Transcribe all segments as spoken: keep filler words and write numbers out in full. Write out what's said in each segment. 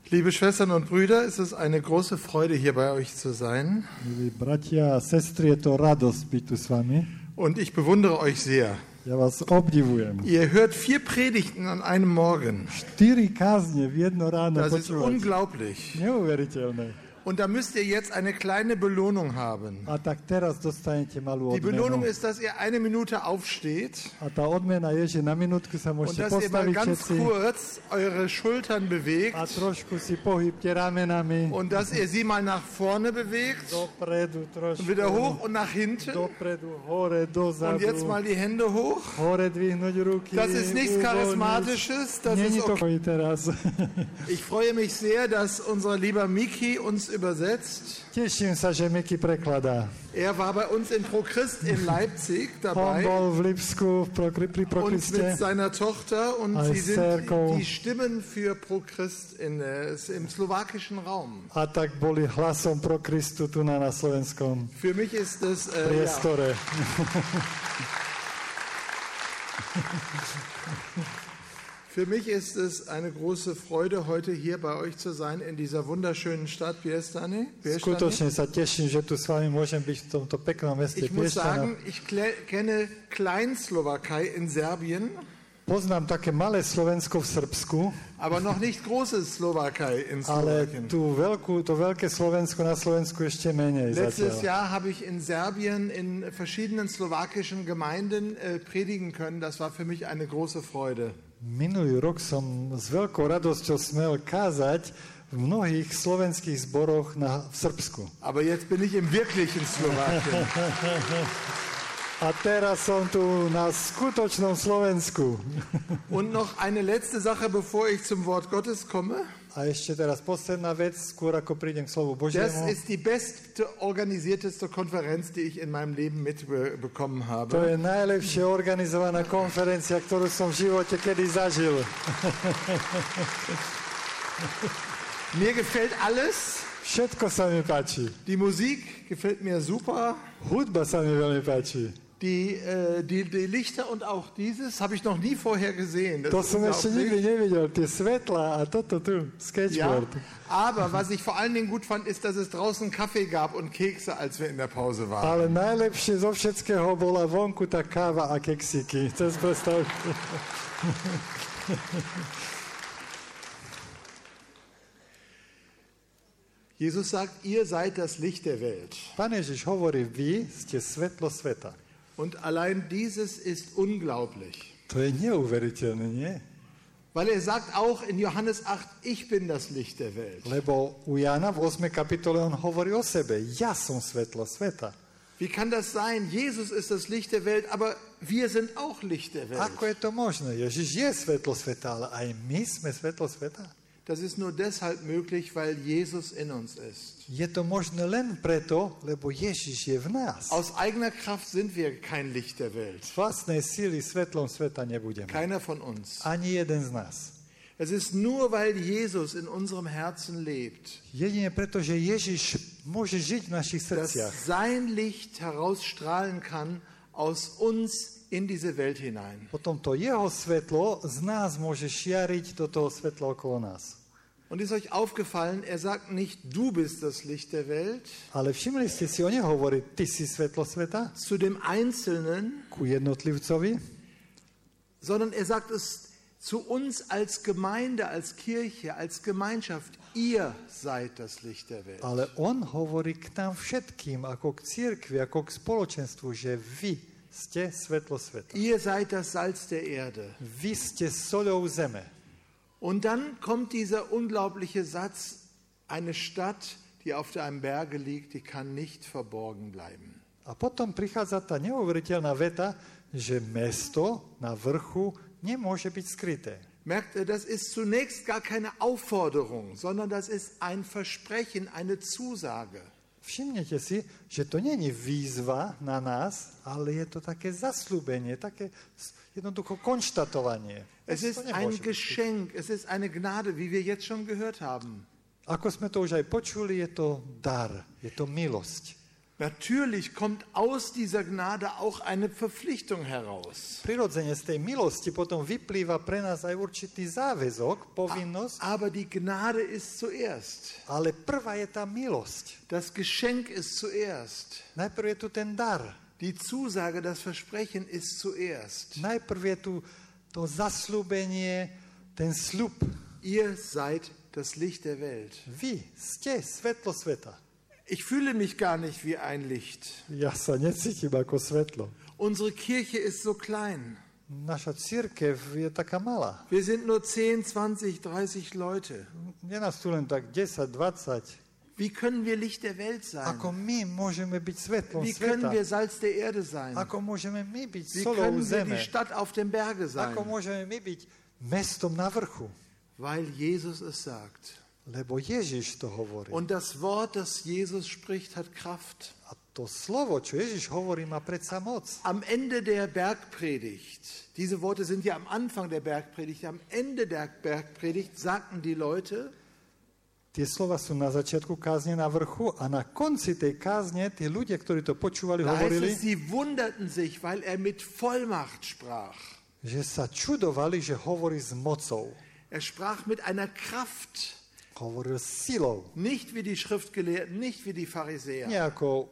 Liebe Schwestern und Brüder, es ist eine große Freude, hier bei euch zu sein. Milí bratia a sestry, je to radosť byť tu s vami. Und ich bewundere euch sehr. Ja vás obdivujem. Ihr hört vier Predigten an einem Morgen. Štyri kázne v jedno ráno Das ist počúvať. unglaublich. Neuveriteľné. Und da müsst ihr jetzt eine kleine Belohnung haben. A tak teraz dostanete malú Die Belohnung odmenu. ist, dass ihr eine Minute aufsteht A tá odmena je, že na minútku sa und môžete dass ihr mal postaviť ganz všetci kurz eure Schultern bewegt a trošku si pohybte ramenami und dass ihr sie mal nach vorne bewegt dopredu und trošku. wieder hoch und nach hinten Dopredu, hore, dozadu. und jetzt mal die Hände hoch. Hore dvihnúť ruky. Das ist nichts uvoľniť. Charismatisches, das Není ist to okay. teraz. Ich freue mich sehr, dass unser lieber Miki uns übersetzt. Teším sa, že Miky prekladá. Er war bei uns in ProChrist in Leipzig On dabei bol v Lipsku pri und mit Prokriste. seiner Tochter und Als sie sind Cerkel. die Stimmen für ProChrist in, äh, im slowakischen Raum. A tak boli hlasom pro Kristu tu na, na slovenskom Für mich ist es äh, ja, priestore. für mich ist es eine große Freude, heute hier bei euch zu sein in dieser wunderschönen Stadt Piestany. Skutočne sa teším, že tu s vami môžem byť v tomto peknom meste Ich muss Piešťana. sagen, ich kle- kenne Kleinslowakei in Serbien, Poznám také malé Slovensko v Srbsku, aber noch nicht große Slowakei in ale Slowakien. tú veľkú, to veľké Slovensko na Slovensku ešte menej Letztes zatiaľ. Jahr habe ich in Serbien in verschiedenen slowakischen Gemeinden äh, predigen können. Das war für mich eine große Freude. Minulý rok som s veľkou radosťou smel kázať v mnohých slovenských zboroch na, v Srbsku. Aber jetzt bin ich im wirklichen Slowakien. A teraz som tu na skutočnom Slovensku. Und noch eine letzte Sache, bevor ich zum Wort Gottes komme. A ešte teraz posledná vec, skôr ako prídem k slovu Das Božiemu. ist die beste organisierteste Konferenz, die ich in meinem Leben mitbekommen To habe. je najlepšie organizovaná konferencia, ktorú som v živote kedy zažil. Mir gefällt alles. Všetko sa mi páči. Die Musik gefällt mir super. Hudba sa mi veľmi páči. Die, äh, die, die Lichter und auch dieses habe ich noch nie vorher gesehen. Das To ist som ešte unglaublich. nikdy nevidel. Tie svetlá a toto tu, Ja, skateboard. aber was ich vor allen Dingen gut fand, ist, dass es draußen Kaffee gab und Kekse, als wir in der Pause waren. Ale najlepšie zo všetkého bola vonku tá káva a keksiky. To si predstavte. Jesus sagt, ihr seid das Licht der Welt. Pán Ježiš hovorí, vy ste svetlo sveta. Und allein dieses ist unglaublich. To je neuveriteľné, nie? Weil er sagt auch in Johannes acht, ich bin das Licht der Welt. Lebo u Jána v ôsmej kapitole on hovorí o sebe. Ja som svetlo sveta. Wie kann das sein? Jesus ist das Licht der Welt, aber wir sind auch Licht der Welt. Ako je to možné? Ježiš je svetlo sveta, ale aj my sme svetlo sveta. Das ist nur deshalb möglich, weil Jesus in uns ist. Je to možné len preto, lebo Ježiš je v nás. Aus eigener Kraft sind wir kein Licht der Welt. Z vlastnej síly svetlom sveta nebudeme. Keiner von uns. Ani jeden z nás. Es ist nur, weil Jesus in unserem Herzen lebt, Jedine preto, že Ježiš môže žiť v našich dass srdciach. sein Licht herausstrahlen kann aus uns in diese Welt hinein. Potom to jeho svetlo z nás môže šiariť do toho svetla okolo nás. Und ist euch aufgefallen, er sagt nicht, du bist das Licht der Welt, Ale všimli ste si, on nehovorí, ty si svetlo sveta zu dem Einzelnen, ku jednotlivcovi, sondern er sagt es zu uns als Gemeinde, als Kirche, als Gemeinschaft. Ihr seid das Licht der Welt. ale on hovorí k nám všetkým, ako k cirkvi, ako k spoločenstvu, že vy ste svetlo sveta. Ihr seid das Salz der Erde. Vy ste soľou zeme. Und dann kommt dieser unglaubliche Satz, eine Stadt, die auf einem Berge liegt, die kann nicht verborgen bleiben. A potom prichádza tá neuveriteľná veta, že mesto na vrchu nemôže byť skryté. Merkt ihr, das ist zunächst gar keine Aufforderung, sondern das ist ein Versprechen, eine Zusage. Všimnete si, že to nie je výzva na nás, ale je to také zasľúbenie, také jednoducho konštatovanie. Es ist To ein nemôže byť. Geschenk, es ist eine Gnade, wie wir jetzt schon gehört haben. Ako sme to už aj počuli, je to dar, je to milosť. Natürlich kommt aus dieser Gnade auch eine Verpflichtung heraus. Prirodzene z tej milosti potom vyplýva pre nás aj určitý záväzok, povinnosť, Aber die Gnade ist zuerst. ale prvá je tá milosť. Das Geschenk ist zuerst. Najprv je tu ten dar. Die Zusage, das Versprechen ist zuerst. Najprv je tu to zasľúbenie, ten sľub. Ihr seid das Licht der Welt. Vy ste svetlo sveta. Ich fühle mich gar nicht wie ein Licht. Ja sa necítim ako svetlo. Unsere Kirche ist so klein. Naša cirkev je taká malá. Wir sind nur zehn, zwanzig, dreißig Leute. Je nás tu len tak desať, dvadsať. Wie können wir Licht der Welt sein? Ako my môžeme byť svetlom Wie können sveta? wir Salz der Erde sein? Ako môžeme my byť Wie solou können wir zeme? die Stadt auf dem Berge sein? Ako môžeme my byť mestom na vrchu? Weil Jesus es sagt. Lebo Ježiš to hovorí. Und das Wort, das Jesus spricht, hat Kraft. A to slovo, čo Ježiš hovorí, má predsa moc. Am Ende der Bergpredigt, diese Worte sind ja am Anfang der Bergpredigt, am Ende der Bergpredigt sagten die Leute, Tie slova sú na začiatku kázne na vrchu a na konci tej kázne tí ľudia, ktorí to počúvali, da heißt hovorili, es, sie wunderten sich, weil er mit Vollmacht sprach. že sa čudovali, že hovorí s mocou. Er sprach mit einer Kraft, Hovoril s silou. nicht wie die Schriftgelehrten, nicht wie die Pharisäer. Nie ako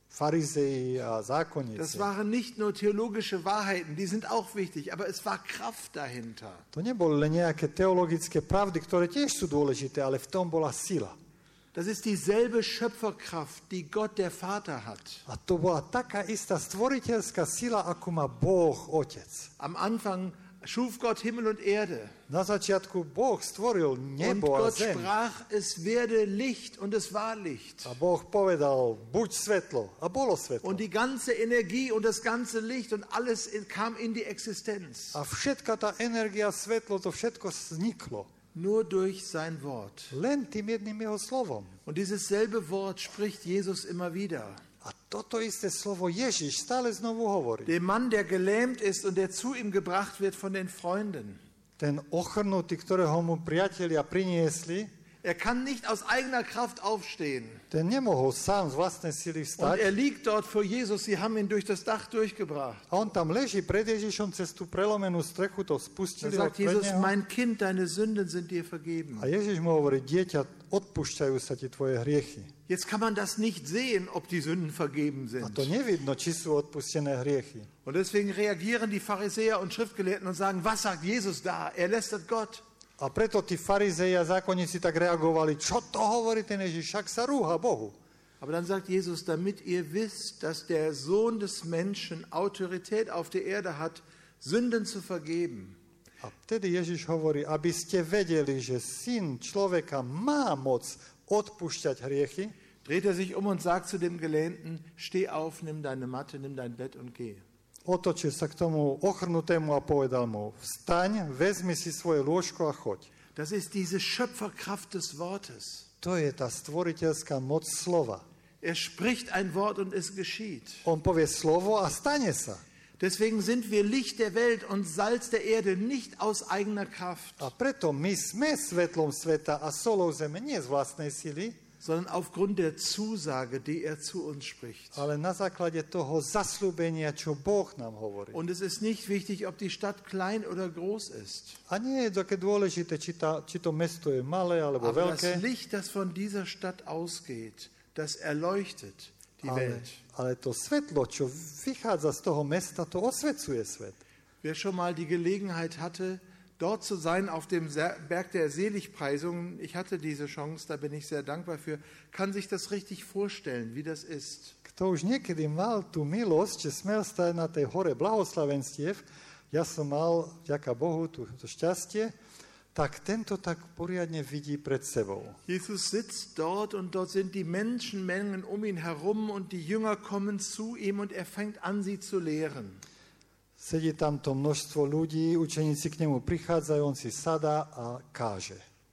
farizei a Das zákonníci. waren nicht nur theologische Wahrheiten, die sind auch wichtig, aber es war Kraft dahinter. To neboli len nejaké teologické pravdy, ktoré tiež sú dôležité, ale v tom bola sila. Das ist dieselbe Schöpferkraft, die Gott der Vater hat. A to bola taká istá stvoriteľská sila, ako má Boh Otec. Am Anfang schuf Gott Himmel und Erde. Na začiatku Boh stvoril Und nebo a Gott zem. sprach, es werde Licht und es war Licht. A Boh povedal, buď svetlo. A bolo svetlo. Und die ganze Energie und das ganze Licht und alles in- kam in die Existenz. A všetka tá energia, svetlo, to všetko vzniklo. Nur durch sein Wort. Len tým jedným jeho slovom. Und dieses selbe Wort spricht Jesus immer wieder. A toto isté slovo Ježiš stále znovu hovorí. Dem Mann, der gelähmt ist und der zu ihm gebracht wird von den Freunden. Ten ochrnutý, ktorého mu priatelia priniesli, Er kann nicht aus eigener Kraft aufstehen. ten nemohol sám z vlastnej sily Und vstať. er liegt dort vor Jesus. Sie haben ihn durch das Dach durchgebracht. A on tam leží pred Ježišom, cez tú prelomenú strechu to Da spustili ho sagt pred Jesus, neho. mein Kind, deine Sünden sind dir vergeben. A Ježiš mu hovorí, dieťa, odpúšťajú sa ti tvoje hriechy. Jetzt kann man das nicht sehen, ob die Sünden vergeben A sind. to nevidno, či sú odpustené hriechy. Und deswegen reagieren die Pharisäer und Schriftgelehrten und sagen, was sagt Jesus da? Er lästert Gott. A preto tí farizei a zákonníci tak reagovali, čo to hovorí ten Ježiš, však sa rúha Bohu. Aber dann sagt Jesus, damit ihr wisst, dass der Sohn des Menschen Autorität auf der Erde hat, Sünden zu vergeben. A vtedy Ježiš hovorí, aby ste vedeli, že syn človeka má moc odpúšťať hriechy, Dreht er sich um und sagt zu dem Gelähmten, steh auf, nimm deine Matte, nimm dein Bett und geh. otočil sa k tomu ochrnutému a povedal mu, vstaň, vezmi si svoje lôžko a choď. Das ist diese Schöpferkraft des Wortes. To je tá stvoriteľská moc slova. Er spricht ein Wort und es geschieht. On povie slovo a stane sa. Deswegen sind wir Licht der Welt und Salz der Erde, nicht aus eigener Kraft, A preto my sme svetlom sveta a solou zeme nie z vlastnej sily, sondern aufgrund der Zusage, die er zu uns spricht. ale na základe toho zasľúbenia, čo Boh nám hovorí. Und es ist nicht wichtig, ob die Stadt klein oder groß ist. A nie je také dôležité, či, tá, či to mesto je malé alebo Aber das veľké, Licht, das von dieser Stadt ausgeht, das erleuchtet die ale, Welt. ale to svetlo, čo vychádza z toho mesta, to osvecuje svet. Wer schon mal die Gelegenheit hatte, dort zu sein auf dem Berg der Seligpreisungen, ich hatte diese Chance, da bin ich sehr dankbar für, kann sich das richtig vorstellen, wie das ist. Kto už niekedy mal tú milosť, že smel stať na tej hore blahoslavenstiev, ja som mal, vďaka Bohu, tú, to šťastie, tak tento tak poriadne vidí pred sebou. Jesus sitzt dort und dort sind die Menschenmengen um ihn herum und die Jünger kommen zu ihm und er fängt an, sie zu lehren. Sedí tam to množstvo ľudí, učeníci k nemu prichádzajú, on si sadá a káže.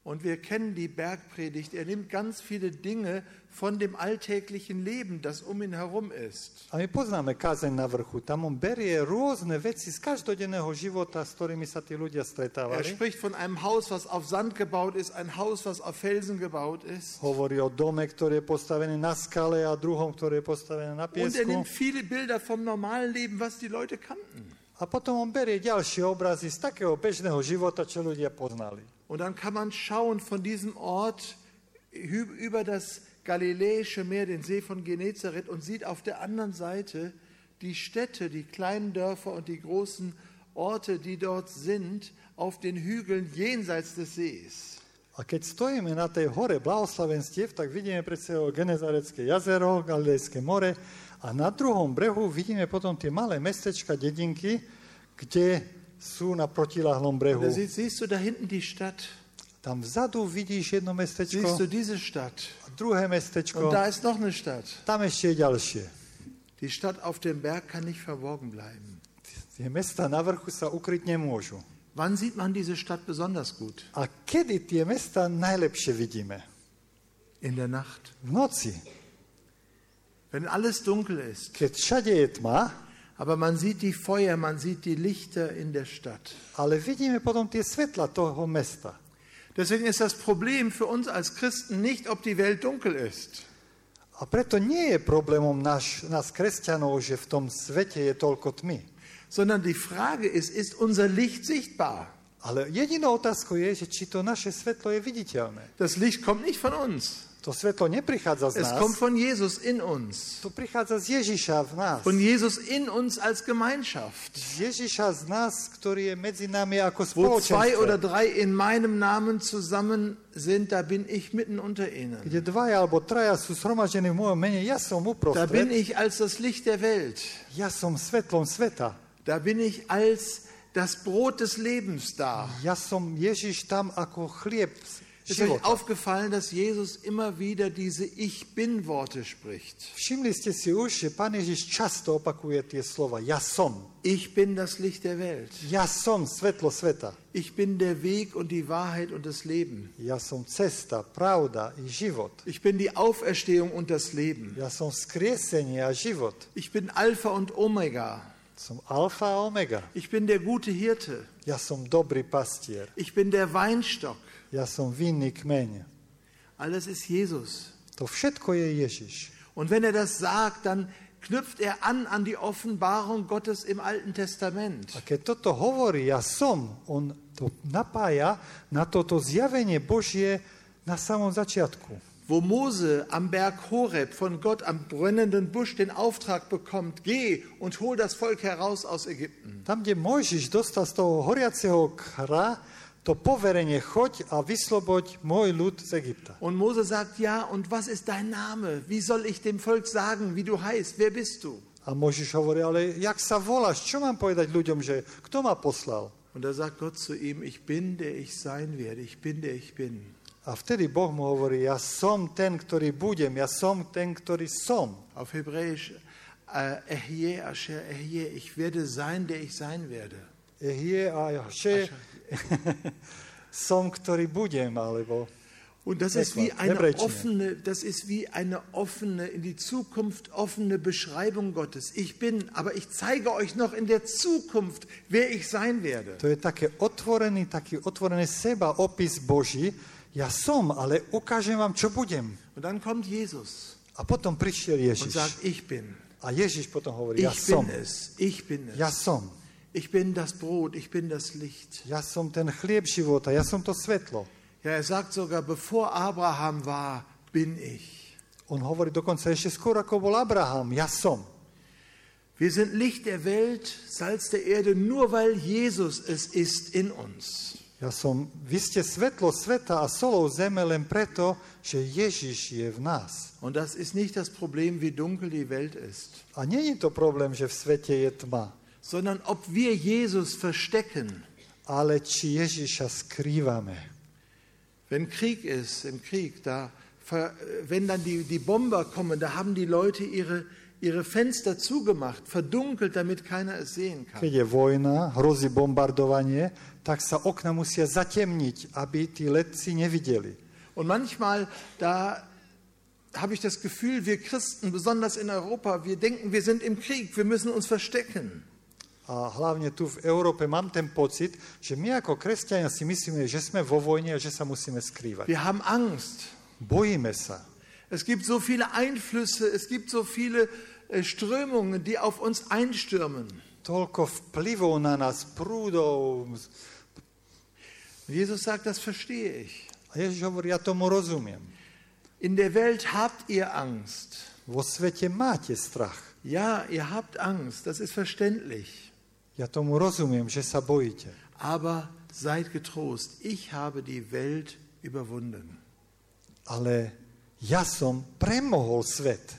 Und wir kennen die Bergpredigt. Er nimmt ganz viele Dinge von dem alltäglichen Leben, das um ihn herum ist. A my poznáme kázeň na vrchu. Tam on berie rôzne veci z každodenného života, s ktorými sa tí ľudia Er stretávali. spricht von einem Haus, was auf Sand gebaut ist, ein Haus, was auf Felsen gebaut ist. Hovorí o dome, ktorý je postavený na skale a druhom, ktorý je postavený na Und er piesku. nimmt viele Bilder vom normalen Leben, was die Leute kannten. A potom on berie ďalšie obrazy z takého bežného života, čo ľudia poznali. Und dann kann man schauen von diesem Ort hü- über das Galiläische Meer, den See von Genezareth, und sieht auf der anderen Seite die Städte, die kleinen Dörfer und die großen Orte, die dort sind, auf den Hügeln jenseits des Sees. A keď stojíme na tej hore blahoslavenstiev, tak vidíme pred sebou Genezarecké jazero, Galilejské more a na druhom brehu vidíme potom tie malé mestečka, dedinky, kde sú na protiláhlom brehu. Da siehst, siehst du da hinten die Stadt? Tam vzadu vidíš jedno mestečko Siehst du diese Stadt? a druhé Und mestečko. da ist noch eine Stadt. Tam ešte je ďalšie. Die Stadt auf dem Berg kann nicht verborgen bleiben. Tie mesta na vrchu sa ukryť nemôžu. Wann sieht man diese Stadt besonders gut? A kedy tie mesta najlepšie vidíme? In der Nacht. V noci, Wenn alles dunkel ist. keď všade je tma, Aber man sieht die Feuer, man sieht die Lichter in der Stadt. ale vidíme potom tie svetla toho mesta. Deswegen ist das Problem für uns als Christen nicht, ob die Welt dunkel ist. A preto nie je problémom náš, nás kresťanov, že v tom svete je toľko tmy. Sondern die Frage ist, ist unser Licht sichtbar? Ale jedinou otázkou je, že či to naše svetlo je viditeľné. Das Licht kommt nicht von uns. To svetlo neprichádza z Es nás, kommt von Jesus in uns. to prichádza z Ježiša v nás. Von Jesus in uns als Gemeinschaft. Z Ježiša z nás, ktorý je medzi nami ako Wo zwei oder spoločenstvo. drei in meinem Namen zusammen sind, da bin ich mitten unter ihnen. Kde dvaja alebo traja sú zhromaždení v mojom mene, ja som Da bin uprostred, ich als das Licht der Welt. ja som svetlom sveta. Da bin ich als das Brot des Lebens da. Ja som Ježiš tam ako chlieb Ist euch života. aufgefallen, dass Jesus immer wieder diese Ich-Bin-Worte spricht? Všimli ste si už, že Pán Ježiš často opakuje tie slova. Ja som. Ich bin das Licht der Welt. Ja som svetlo sveta. Ich bin der Weg und die Wahrheit und das Leben. Ja som cesta, pravda i život. Ich bin die Auferstehung und das Leben. Ja som skriesenie a život. Ich bin Alpha und Omega. Som alfa a omega. Ich bin der gute Hirte. Ja som dobrý pastier. Ich bin der Weinstock. Ja som vinný kmeň. Alles ist Jesus. To všetko je Ježiš. Und wenn er das sagt, dann knüpft er an an die Offenbarung Gottes im Alten Testament. A keď toto hovorí, ja som, on to napája na toto zjavenie Božie na samom začiatku. Wo Mose am Berg Horeb von Gott am brennenden Busch den Auftrag bekommt, geh und hol das Volk heraus aus Ägypten. Tam, kde Mojžiš dostal z toho horiaceho kra to poverenie, choď a vysloboď môj ľud z Egypta. Und Mose sagt, ja, und was ist dein Name? Wie soll ich dem Volk sagen, wie du heißt? Wer bist du? A Mojžiš hovorí, ale jak sa voláš? Čo mám povedať ľuďom, že kto ma poslal? Und da sagt Gott zu ihm, ich bin, der ich sein werde. Ich bin, der ich bin. A vtedy Boh mu hovorí, ja som ten, ktorý budem, ja som ten, ktorý som. Auf Hebräisch, äh, Ehyeh, Asher, Ehyeh, ich werde sein, der ich sein werde. Ehie a Jaše, som, ktorý budem, alebo... Und das ist wie eine Hebräičine. offene, das ist wie eine offene, in die Zukunft offene Beschreibung Gottes. Ich bin, aber ich zeige euch noch in der Zukunft, wer ich sein werde. To je také otvorený, taký otvorený seba opis Boží. Ja som, ale ukážem vám, čo budem. Und dann kommt Jesus A potom prišiel und Ježiš. sagt, ich bin. A Ježiš potom hovorí, ja Ich som. bin es, ich bin es. Ja som. Ich bin das Brot, ich bin das Licht. Ja som ten chlieb života, ja som to svetlo. Ja, er sagt sogar, bevor Abraham war, bin ich. On hovorí dokonca ešte skôr, ako bol Abraham. Ja som. Wir sind Licht der Welt, Salz der Erde, nur weil Jesus es ist in uns. Ja som, vy ste svetlo sveta a solou zeme len preto, že Ježiš je v nás. Und das ist nicht das Problem, wie dunkel die Welt ist, A nie je to problém, že v svete je tma, sondern ob wir Jesus verstecken. ale či Ježiša skrývame. Wenn Krieg ist, im Krieg, da, ver- wenn dann die, die Bomber kommen, da haben die Leute ihre, ihre Fenster zugemacht, verdunkelt, damit keiner es sehen kann. Keď je vojna, hrozí bombardovanie, tak sa okna musia zatemniť, aby tí letci nevideli. Und manchmal, da habe ich das Gefühl, wir Christen, besonders in Europa, wir denken, wir sind im Krieg, wir müssen uns verstecken. A hlavne tu v Európe mám ten pocit, že my ako kresťania si myslíme, že sme vo vojne a že sa musíme skrývať. Wir haben Angst. Bojíme sa. Es gibt so viele Einflüsse, es gibt so viele äh, Strömungen, die auf uns einstürmen. Toľko vplyvov na nás, prúdov. Jesus sagt, das verstehe ich. A Ježiš hovorí, ja tomu rozumiem. In der Welt habt ihr Angst. Vo svete máte strach. Ja, ihr habt Angst, das ist verständlich. Ja tomu rozumiem, že sa bojíte. Aber seid getrost, ich habe die Welt überwunden. Ale ja som premohol svet.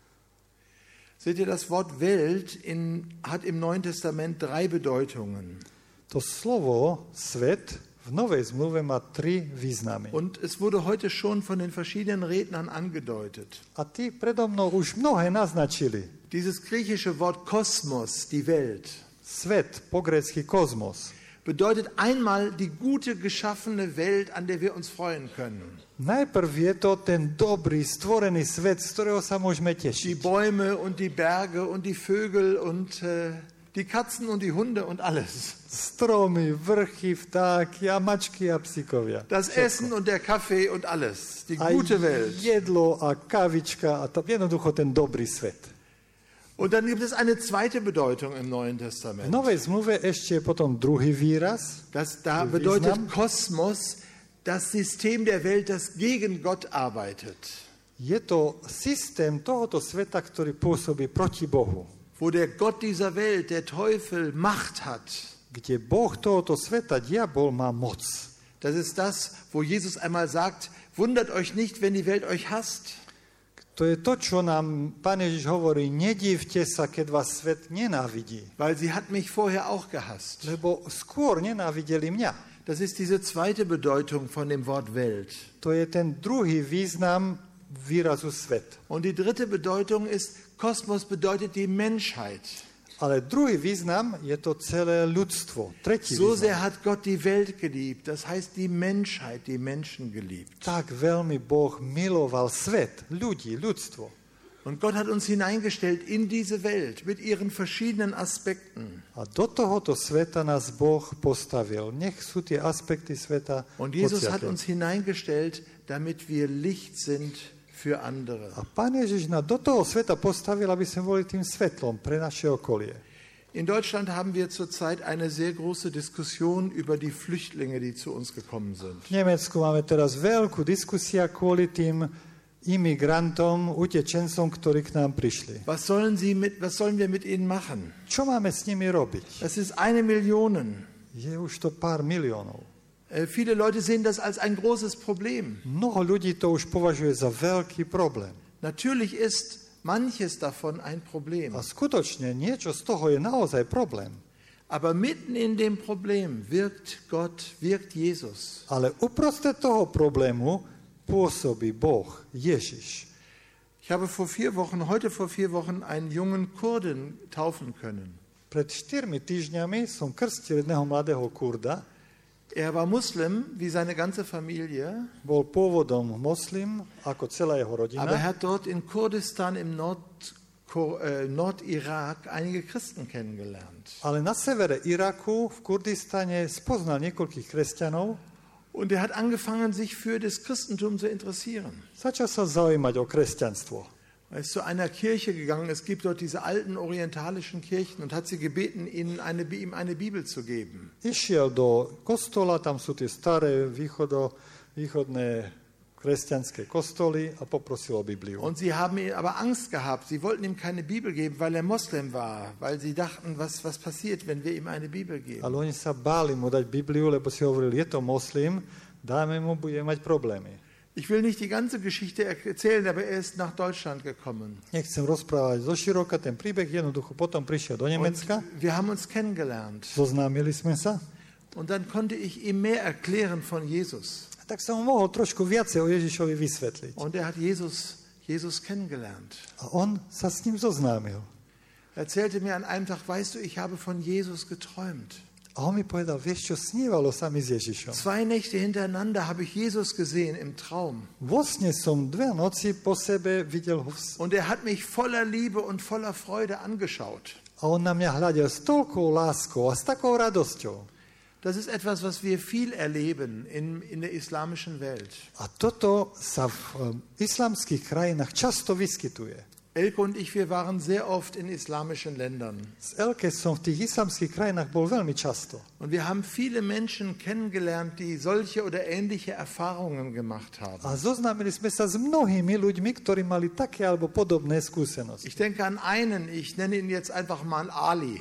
Seht ihr, das Wort Welt in, hat im Neuen Testament drei Bedeutungen. To slovo svet v Novej zmluve má tri významy. Und es wurde heute schon von den verschiedenen Rednern angedeutet. A tí predo mnou už mnohé naznačili. Dieses griechische Wort Kosmos, die Welt, Svet, po grécky kozmos, bedeutet einmal die gute geschaffene Welt, an der wir uns freuen können. najprv je to ten dobrý, stvorený svet, z ktorého sa môžeme Die tešiť. Bäume und die Berge und die Vögel und äh, die Katzen und die Hunde und alles. Stromy, vrchy, vtáky a mačky a psíkovia. Das Essen und der Kaffee und alles. Die A gute Welt. jedlo a kavička a to jednoducho ten dobrý svet. Und dann gibt es eine zweite Bedeutung im Neuen V Testament. Novej zmluve ešte je potom druhý výraz. Das, da Wie bedeutet Vietnam? Kosmos das System der Welt, das gegen Gott arbeitet. Je to systém tohoto sveta, ktorý pôsobí proti Bohu. Wo der Gott dieser Welt, der Teufel, Macht hat. Kde Boh tohoto sveta, diabol, má moc. Das ist das, wo Jesus einmal sagt, wundert euch nicht, wenn die Welt euch hasst. To je to, čo nám Pán Ježiš hovorí, nedívte sa, keď vás svet nenávidí. Weil sie hat mich vorher auch gehasst. Lebo skôr nenávideli mňa. Das ist diese zweite Bedeutung von dem Wort Welt. To je ten druhý význam výrazu svet. Und die dritte Bedeutung ist, Kosmos bedeutet die Menschheit. Ale druhý význam je to celé ľudstvo. Tretí So význam. sehr hat Gott die Welt geliebt, das heißt die Menschheit, die Menschen geliebt. Tak veľmi Boh miloval svet, ľudí, ľudstvo. Und Gott hat uns hineingestellt in diese Welt mit ihren verschiedenen Aspekten. A do tohoto sveta nás Boh postavil. Nech sú tie aspekty sveta Und Jesus hat pociate. uns hineingestellt, damit wir Licht sind für andere. A Pán Ježiš nás do toho sveta postavil, aby sme boli tým svetlom pre naše okolie. In Deutschland haben wir zurzeit eine sehr große Diskussion über die Flüchtlinge, die zu uns gekommen sind. V Nemecku máme teraz veľkú diskusia kvôli tým imigrantom, utečencom, ktorí k nám prišli. Was sollen, sie mit, was sollen wir mit ihnen machen? Čo máme s nimi robiť? Das ist eine Million. Je už to pár miliónov. Äh, viele Leute sehen das als ein großes Problem. Mnoho ľudí to už považuje za veľký problém. Natürlich ist manches davon ein Problem. A skutočne niečo z toho je naozaj problém. Aber mitten in dem Problem wirkt Gott, wirkt Jesus. Ale uprostred toho problému pôsobí Boh, Ježiš. Ich habe vor vier Wochen, heute vor vier Wochen einen jungen Kurden taufen können. Pred štyrmi týždňami som krstil jedného mladého Kurda. Er war Muslim, wie seine ganze Familie, Bol pôvodom moslim, ako celá jeho rodina. aber er hat dort in Kurdistan im Nord, äh, Nordirak einige Christen kennengelernt. Ale na severe Iraku, v Kurdistane, spoznal niekoľkých kresťanov. Und er hat angefangen, sich für das Christentum zu interessieren. Začal sa zaujímať o kresťanstvo. Er ist zu einer Kirche gegangen, es gibt dort diese alten orientalischen Kirchen und hat sie gebeten, ihnen eine, ihm eine Bibel zu geben. Išiel do kostola, tam sú tie staré východo, východné kresťanské kostoly a poprosil o Bibliu. Und sie haben ihn aber Angst gehabt. Sie wollten ihm keine Bibel geben, weil er Moslem war, weil sie dachten, was, was passiert, wenn wir ihm eine Bibel geben. Ale oni sa báli mu dať Bibliu, lebo si hovorili, je to moslim, dáme mu, bude mať problémy. Ich will nicht die ganze Geschichte erzählen, aber er ist nach Deutschland gekommen. Nechcem rozprávať zo široka ten príbeh, jednoducho potom prišiel do Und Nemecka, wir haben uns kennengelernt. zoznámili sme sa. Und dann konnte ich ihm mehr erklären von Jesus. Tak som mu mohol trošku viacej o Ježišovi vysvetliť. Und er hat Jesus Jesus kennengelernt. A on sa s ním zoznámil. Er erzählte mir an einem Tag, weißt du, ich habe von Jesus geträumt. A on mi povedal, vieš čo, snívalo sa mi s Ježišom. Zwei Nächte hintereinander habe ich Jesus gesehen im Traum. Vo sne som dve noci po sebe videl ho. v- Und er hat mich voller Liebe und voller Freude angeschaut. A on na mňa hľadel s toľkou láskou a s takou radosťou. Das ist etwas, was wir viel erleben in, in der islamischen Welt. A toto sa v e, islamských krajinách často vyskytuje. Elke und ich, wir waren sehr oft in islamischen Ländern. Z Elke som v tých islamských krajinách bol veľmi často. Und wir haben viele Menschen kennengelernt, die solche oder ähnliche Erfahrungen gemacht haben. A zoznámili sme sa s mnohými ľuďmi, ktorí mali také alebo podobné skúsenosti. Ich denke an einen, ich nenne ihn jetzt einfach mal Ali.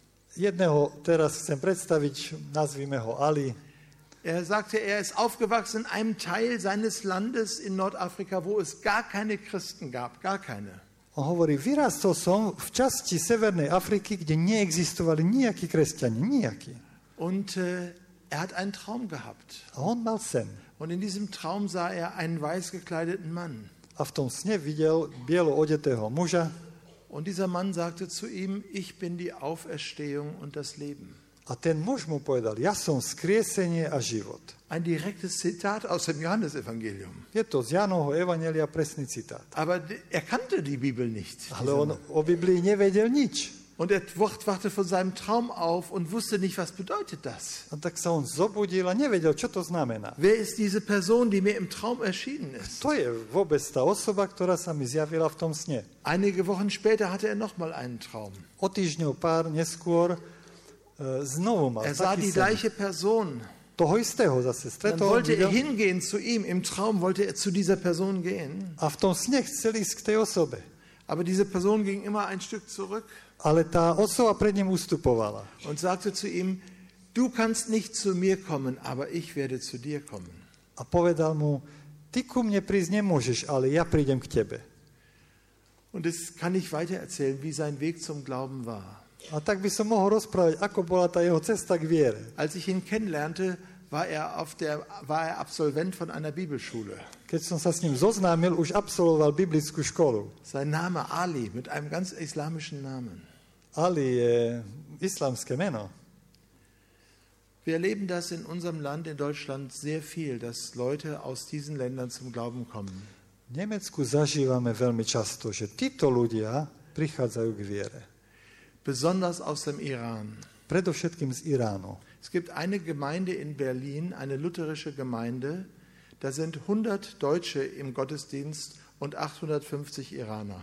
Jedného teraz chcem predstaviť, nazvime ho Ali. Er sagte, er ist aufgewachsen in einem Teil seines Landes in Nordafrika, wo es gar keine Christen gab, gar keine. On hovorí, vyrastol som v časti Severnej Afriky, kde neexistovali nejakí kresťania, nejakí. Und äh, er hat einen Traum gehabt. A on mal sen. Und in diesem Traum sah er einen weiß gekleideten Mann. A v tom sne videl bielo odetého muža. Und dieser Mann sagte zu ihm, ich bin die Auferstehung und das Leben. A ten muž mu povedal, ja som skriesenie a život. Ein direktes Zitat aus dem Johannesevangelium. Je to z Jánovho evanjelia presný citát. Aber er kannte die Bibel nicht. Ale on o Biblii nevedel nič. Und er wachte von seinem Traum auf und wusste nicht, was bedeutet das. A tak sa on zobudil a nevedel, čo to znamená. Wer ist diese Person, die mir im Traum erschienen ist? To je vôbec tá osoba, ktorá sa mi zjavila v tom sne. Einige Wochen später hatte er nochmal einen Traum. O týždňov pár neskôr e, znovu mal Er sah taký die sen. gleiche Person. Toho istého zase Dann stretol. wollte er videl. hingehen zu ihm. Im Traum wollte er zu dieser Person gehen. A v tom sne chcel ísť k tej osobe. Aber diese Person ging immer ein Stück zurück Ale tá osoba pred ním ustupovala. und sagte zu ihm, du kannst nicht zu mir kommen, aber ich werde zu dir kommen. A povedal mu, ty ku mne prísť nemôžeš, ale ja prídem k tebe. Und es kann ich weiter erzählen, wie sein Weg zum Glauben war. A tak by som mohol rozprávať, ako bola tá jeho cesta k viere. Als ich ihn kennenlernte, war er, auf der, war er Absolvent von einer Bibelschule. Keď som sa s ním zoznámil, už absolvoval biblickú školu. Sein Name Ali, mit einem ganz islamischen Namen. Ali je islamské meno. Wir erleben das in unserem Land, in Deutschland, sehr viel, dass Leute aus diesen Ländern zum Glauben kommen. V Nemecku zažívame veľmi často, že títo ľudia prichádzajú k viere. Besonders aus dem Iran. Predovšetkým z Iránu. Es gibt eine Gemeinde in Berlin, eine lutherische Gemeinde, da sind hundert Deutsche im Gottesdienst und achthundertfünfzig Iraner.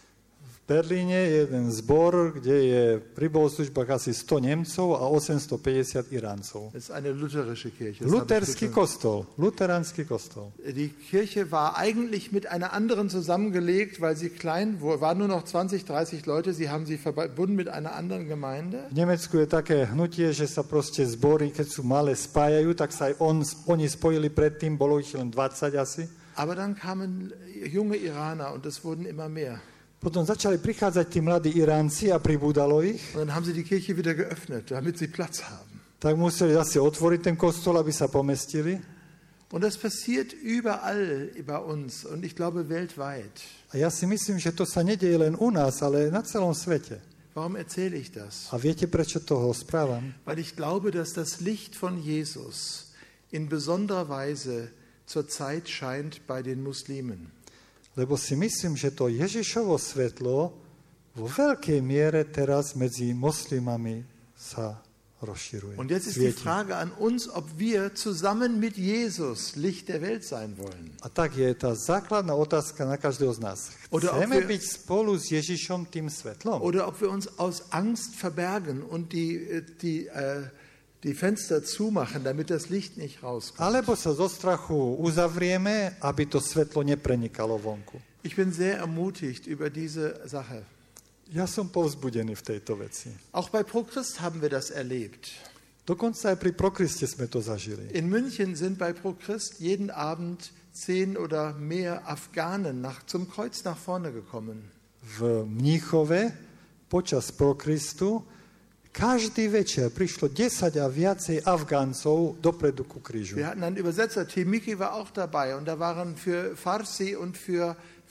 V Berlíne je jeden zbor, kde je pri bohoslužbách asi sto Nemcov a osemstopäťdesiat Iráncov. Das ist eine lutherische Kirche. Das habe ich Luterský schon- kostol, luteránsky kostol. Die Kirche war eigentlich mit einer anderen zusammengelegt, weil sie klein war, waren nur noch zwanzig, dreißig Leute. Sie haben sie verbunden mit einer anderen Gemeinde. V Nemecku je také hnutie, že sa proste zbory, keď sú malé, spájajú, tak sa aj on, oni spojili predtým, bolo ich len dvadsať asi. Aber dann kamen junge Iraner und es wurden immer mehr. Potom začali prichádzať tí mladí Iránci a pribúdalo ich, Und dann haben sie die Kirche wieder geöffnet, damit sie Platz haben. tak museli zase otvoriť ten kostol, aby sa pomestili. Und das passiert überall bei uns und ich glaube weltweit. A ja si myslím, že to sa nedieje len u nás, ale na celom svete. Warum erzähle ich das? A viete, prečo toho správam? Weil ich glaube, dass das Licht von Jesus in besonderer Weise zurzeit scheint bei den Muslimen. Lebo si myslím, že to Ježišovo svetlo vo veľkej miere teraz medzi moslimami sa rozširuje. Und jetzt ist die Svieti. Frage an uns, ob wir zusammen mit Jesus Licht der Welt sein wollen. A tak je tá základná otázka na každého z nás. Oder ob Chceme wir- byť spolu s Ježišom tým svetlom? Oder ob wir uns aus Angst verbergen und die, äh, die, äh, die Fenster zumachen, damit das Licht nicht rauskommt. Alebo sa zo strachu uzavrieme, aby to svetlo neprenikalo vonku. Ich bin sehr ermutigt über diese Sache. Ja som povzbudený v tejto veci. Auch bei ProChrist haben wir das erlebt. Dokonca aj pri Prokriste sme to zažili. In München sind bei ProChrist jeden Abend zehn oder mehr Afghanen nach, zum Kreuz nach vorne gekommen. V Mníchove počas Prokristu každý večer prišlo desať a viacej Afgáncov dopredu ku krížu. Wir hatten ein Übersetzerteam, Miki war auch dabei und da waren für Farsi und für,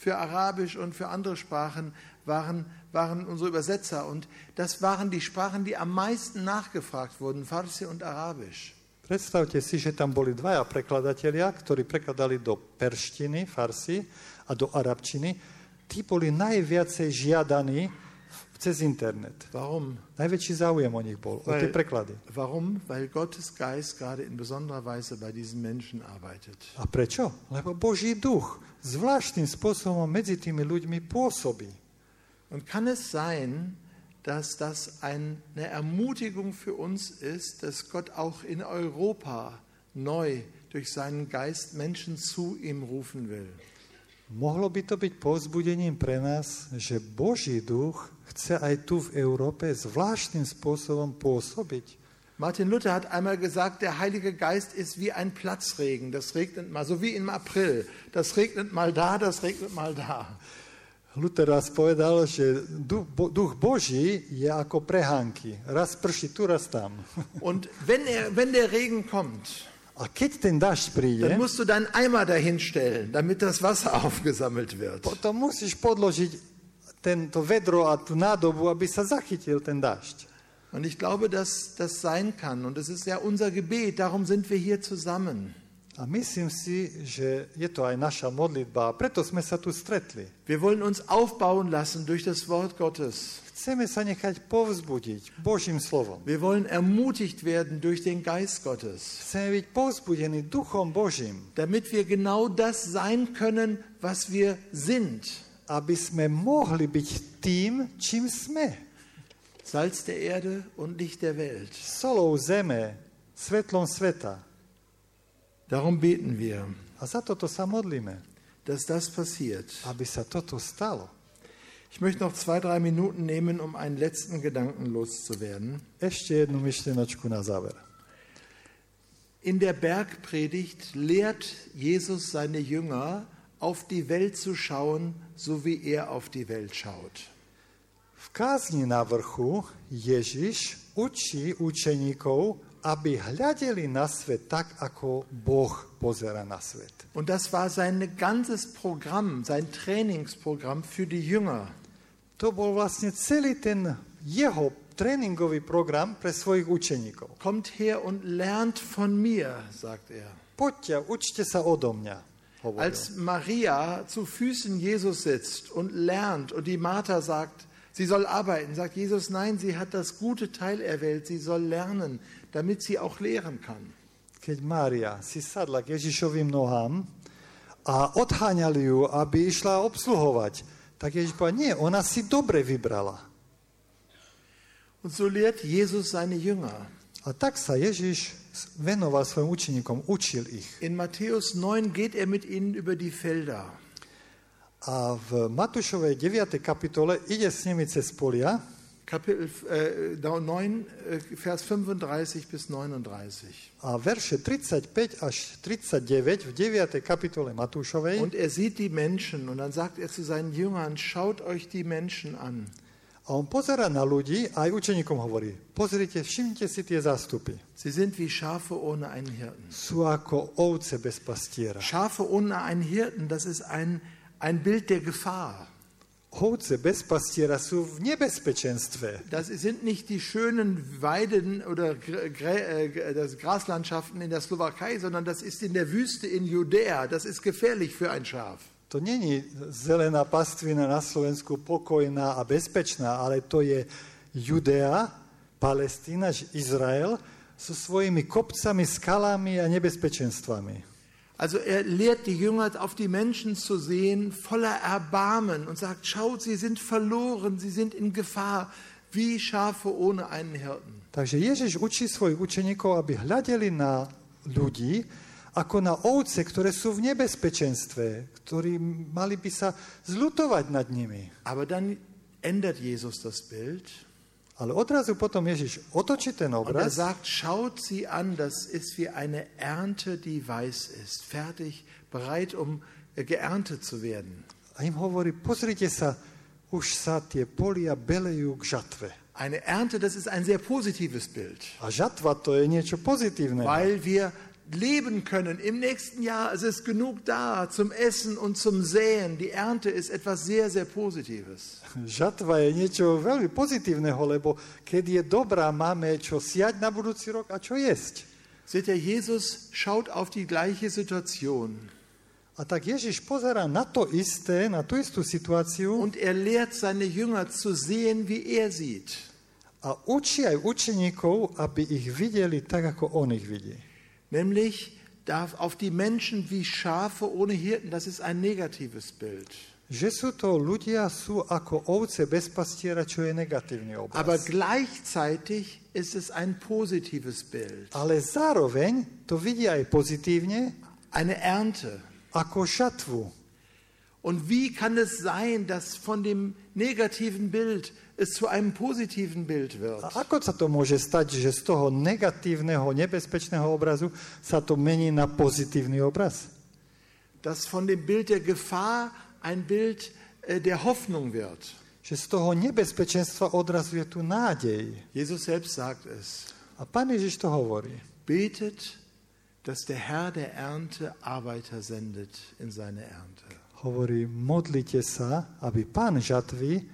für Arabisch und für andere Sprachen waren, waren unsere Übersetzer. Und das waren die Sprachen, die am meisten nachgefragt wurden, Farsi und Arabisch. Predstavte si, že tam boli dvaja prekladatelia, ktorí prekladali do perštiny, farsi a do arabčiny. Tí boli najviacej žiadaní cez internet. Warum? Najväčší záujem o nich bol, o tie preklady. Warum? Weil Gottes Geist gerade in besonderer Weise bei diesen Menschen arbeitet. A prečo? Lebo Boží duch zvláštnym spôsobom medzi tými ľuďmi pôsobí. Und kann es sein, dass das eine Ermutigung für uns ist, dass Gott auch in Europa neu durch seinen Geist Menschen zu ihm rufen will? Mohlo by to byť povzbudením pre nás, že Boží duch chce aj tu v Európe zvláštnym spôsobom pôsobiť. Martin Luther hat einmal gesagt, der Heilige Geist ist wie ein Platzregen. Das regnet mal, so wie im April. Das regnet mal da, das regnet mal da. Luther raz povedal, že duch, bo, duch Boží je ako prehánky. Raz prší tu, raz tam. Und wenn, er, wenn der Regen kommt, a keď ten dážď príde, dann musst du deinen Eimer dahinstellen, damit das Wasser aufgesammelt wird. Potom musíš podložiť tento vedro a tú nádobu, aby sa zachytil ten dážď. Und ich glaube, dass das sein kann. Und es ist ja unser Gebet, darum sind wir hier zusammen. A myslím si, že je to aj naša modlitba, a preto sme sa tu stretli. Wir wollen uns aufbauen lassen durch das Wort Gottes. Chceme sa nechať povzbudiť Božím slovom. Wir wollen ermutigt werden durch den Geist Gottes. Chceme byť povzbudení Duchom Božím. Damit wir genau das sein können, was wir sind. Aby sme mohli byť tým, čím sme. Salz der Erde und Licht der Welt. Solou zeme, svetlom sveta. Darum beten wir, a za toto sa modlíme, dass das passiert. Aby sa toto stalo. Ich möchte noch zwei, drei Minuten nehmen, um einen letzten Gedanken loszuwerden. Ešte jednu myšlienočku na záver. In der Bergpredigt lehrt Jesus seine Jünger, auf die Welt zu schauen, so wie er auf die Welt schaut. V kázni na vrchu Ježiš učí učeníkov, aby hľadeli na svet tak, ako Boh pozerá na svet. Und das war sein ganzes Programm, sein Trainingsprogramm für die Jünger. To bol vlastne celý ten jeho tréningový program pre svojich učeníkov. Kommt her und lernt von mir, sagt er. Poďte, učte sa odo mňa, hovoril. Als Maria zu Füßen Jesus sitzt und lernt und die Martha sagt, sie soll arbeiten, sagt Jesus, nein, sie hat das gute Teil erwählt, sie soll lernen, damit sie auch lehren kann. Keď Mária si sadla k Ježišovým nohám a odháňali ju, aby išla obsluhovať, tak Ježiš povedal, nie, ona si dobre vybrala. Und so lehrt Jesus seine Jünger. A tak sa Ježiš venoval svojim učeníkom, učil ich. In Matthäus neun geht er mit ihnen über die Felder. A v Matúšovej deviatej kapitole ide s nimi cez polia. Kapitel äh, neun, äh, Vers fünfunddreißig bis neununddreißig. A verše tridsaťpäť až tridsaťdeväť v deviatej kapitole Matúšovej. Und er sieht die Menschen und dann sagt er zu seinen Jüngern, schaut euch die Menschen an. A on pozerá na ľudí a aj učeníkom hovorí, pozrite, všimnite si tie zástupy. Sie sind wie Schafe ohne einen Hirten. Sú ako ovce bez pastiera. Schafe ohne einen Hirten, das ist ein, ein Bild der Gefahr. Ovce bez pastiera sú v nebezpečenstve. Das sind nicht die schönen Weiden oder das Graslandschaften in der Slowakei, sondern das ist in der Wüste in Judäa. Das ist gefährlich für ein Schaf. To není zelená pastvina na Slovensku pokojná a bezpečná, ale to je Judea, Palestína, Izrael so svojimi kopcami, skalami a nebezpečenstvami. Also er lehrt die Jünger, auf die Menschen zu sehen, voller Erbarmen und sagt, schaut, sie sind verloren, sie sind in Gefahr, wie Schafe ohne einen Hirten. Takže Ježiš učí svojich učeníkov, aby hľadeli na ľudí, ako na ovce, ktoré sú v nebezpečenstve, ktorí mali by sa zľutovať nad nimi. Aber dann ändert Jesus das Bild. Ale odrazu potom Ježiš otočí ten Und er obraz. sagt, schaut sie an, das ist wie eine Ernte, die weiß ist, fertig, bereit, um geerntet zu werden. A im hovorí, pozrite sa, už sa tie polia belejú k žatve. Eine Ernte, das ist ein sehr positives Bild, A žatva to je niečo pozitívne. weil wir leben können im nächsten Jahr. Es ist genug da zum Essen und zum Säen. Die Ernte ist etwas sehr, sehr Positives. Žatva je niečo veľmi pozitívneho, lebo keď je dobrá, máme čo siať na budúci rok a čo jesť. Seht ihr, Jesus schaut auf die gleiche Situation. A tak Ježiš pozerá na to isté, na tú istú situáciu Und er lehrt seine Jünger zu sehen, wie er sieht. a učí aj učeníkov, aby ich videli tak, ako on ich vidí. Nämlich auf die Menschen wie Schafe ohne Hirten. Das ist ein negatives Bild. Že sú to ľudia, sú ako ovce bez pastiera, čo je negatívny obraz. Aber gleichzeitig ist es ein positives Bild. Ale zároveň to vidí aj pozitívne, Eine Ernte. ako žatvu. Und wie kann es sein, dass von dem negativen Bild es zu einem positiven Bild wird? A ako sa to môže stať, že z toho negatívneho, nebezpečného obrazu sa to mení na pozitívny obraz? Dass von dem Bild der Gefahr ein Bild äh, der Hoffnung wird. Že z toho nebezpečenstva odrazu je tu nádej. Jesus selbst sagt es. A Pán Ježiš to hovorí. Betet, dass der Herr der Ernte Arbeiter sendet in seine Ernte. Hovorí, modlite sa, aby Pán žatvy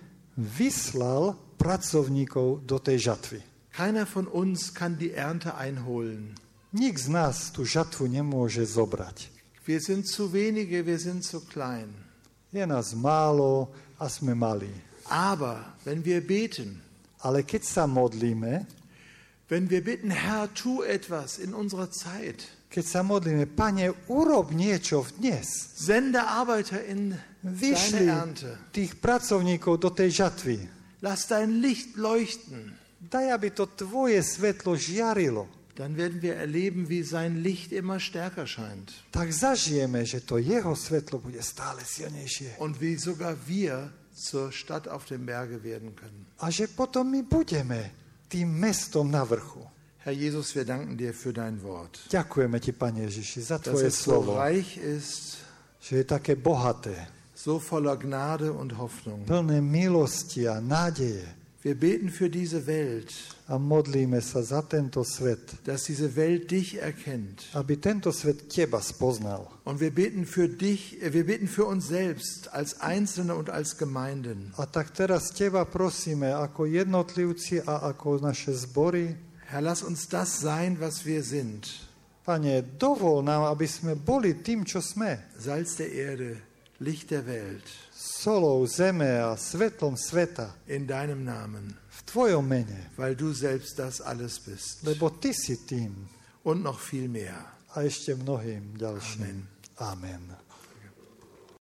vyslal pracovníkov do tej žatvy. Keiner von uns kann die Ernte einholen. Nik z nás tú žatvu nemôže zobrať. Wir sind zu wenige, wir sind zu klein. Je nás málo a sme malí. Aber wenn wir beten, Ale keď sa modlíme, wenn wir bitten, Herr, tu etwas in unserer Zeit, keď sa modlíme, Pane, urob niečo v dnes. sende Arbeiter in deine Vyšli Ernte. tých pracovníkov do tej žatvy. Lass dein Licht leuchten. Daj, aby to tvoje svetlo žiarilo. Dann werden wir erleben, wie sein Licht immer stärker scheint. Tak zažijeme, že to jeho svetlo bude stále silnejšie. Und wie sogar wir zur Stadt auf dem Berge werden können. A že potom my budeme tým mestom na vrchu. Herr Jesus, wir danken dir für dein Wort. Ďakujeme ti, Pane Ježiši, za Dass tvoje es so slovo, reich ist, že je také bohaté, so voller Gnade und Hoffnung. plné milosti a nádeje. Wir beten für diese Welt, A modlíme sa za tento svet, dass diese Welt dich erkennt. aby tento svet teba spoznal. Und wir beten für dich, äh, wir beten für uns selbst als Einzelne und als Gemeinden. A tak teraz teba prosíme, ako jednotlivci a ako naše zbory, Herr, lass uns das sein, was wir sind. Pane, dovol nám, aby sme boli tým, čo sme. Salz der Erde, Licht der Welt, Solou zeme a svetlom sveta in deinem Namen, v tvojom mene. weil du selbst das alles bist. Lebo ty si tým Und noch viel mehr. a ešte mnohým ďalším. Amen. Amen.